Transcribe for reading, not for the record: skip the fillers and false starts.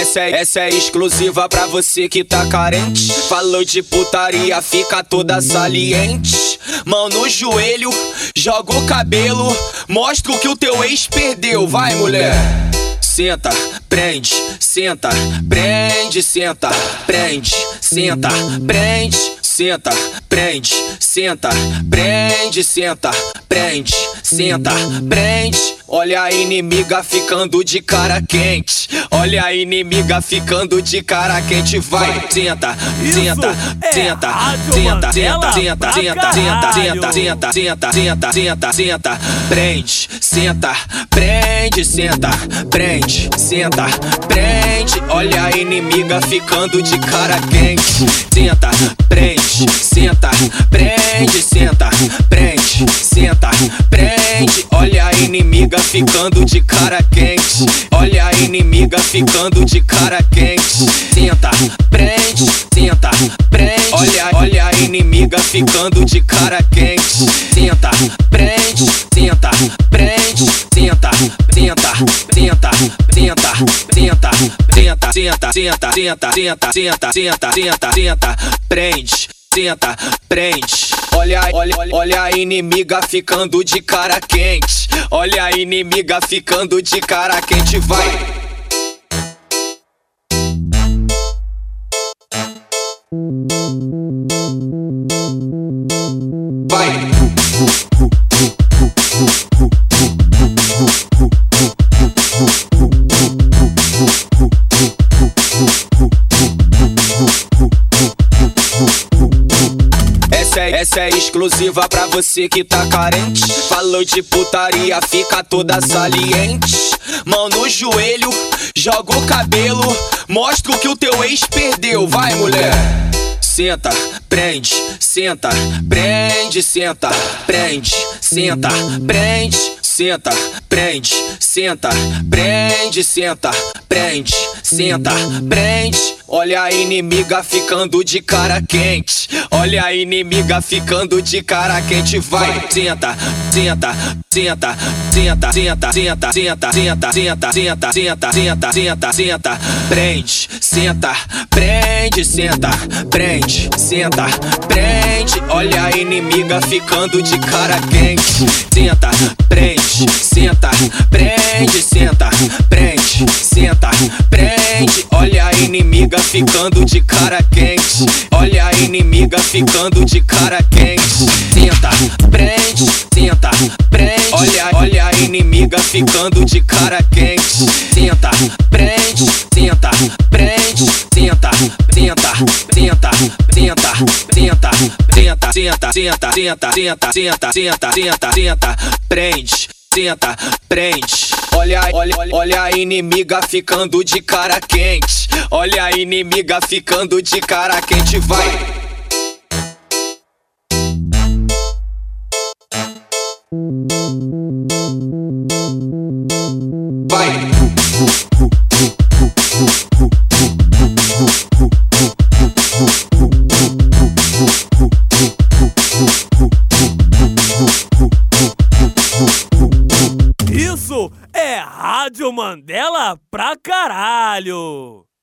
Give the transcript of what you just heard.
Essa é exclusiva pra você que tá carente. Falou de putaria, fica toda saliente. Mão no joelho, joga o cabelo, mostra o que o teu ex perdeu. Vai, mulher. Senta, prende, senta, prende, senta, prende, senta, prende, senta, prende, senta, prende, senta, prende, senta, prende. Olha a inimiga ficando de cara quente. Olha a inimiga ficando de cara quente. Vai, senta, senta, senta, senta, senta, senta, senta, senta, senta, senta, senta, senta, senta, prende, senta, prende, senta, prende, senta, prende. Olha a inimiga ficando de cara quente. Senta, prende, senta, prende, senta, prende, senta, prende. Olha a inimiga ficando de cara quente. Olha a inimiga ficando de cara quente. Senta, prende, senta, prende. Olha a inimiga ficando de cara quente. Senta, prende, senta, prende, senta, senta, senta, senta, senta, senta, senta, senta, senta, senta, senta, senta, senta, senta, prende, senta, prende. Olha a inimiga ficando de cara quente. Olha a inimiga ficando de cara quente. Vai. Vai. Essa é exclusiva pra você que tá carente. Falou de putaria, fica toda saliente. Mão no joelho, joga o cabelo, mostra o que o teu ex perdeu. Vai, mulher. Senta, prende, senta, prende, senta, prende, senta, prende, senta, prende, senta, prende, senta, prende, senta, prende. Olha a inimiga ficando de cara quente. Olha a inimiga ficando de cara quente. Vai, senta, senta, senta, senta, senta, senta, senta, senta, senta, senta, senta, senta, senta, senta, prende, senta, prende, senta, prende, senta, prende. Olha a inimiga ficando de cara quente. Senta, prende, senta, prende, senta, prende, senta, prende. Olha a inimiga ficando de cara quente. Olha a inimiga ficando de cara quente. Senta, prende, senta, prende. Olha a inimiga ficando de cara quente. Senta, prende, senta, prende, senta, senta, senta, senta, senta, senta, senta, senta, senta, senta, senta, senta, senta, senta, prende, senta, prende. Olha a inimiga ficando de cara quente. Olha a inimiga ficando de cara quente. Vai. Vai. Isso é Rádio Mandela pra caralho!